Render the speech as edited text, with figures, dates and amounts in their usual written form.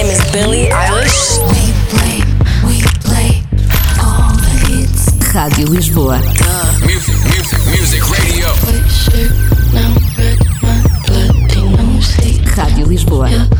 name is Billie Eilish. We play all the hits. Rádio Lisboa. Music Radio. White shirt, now red, my bloody nose. Rádio Lisboa.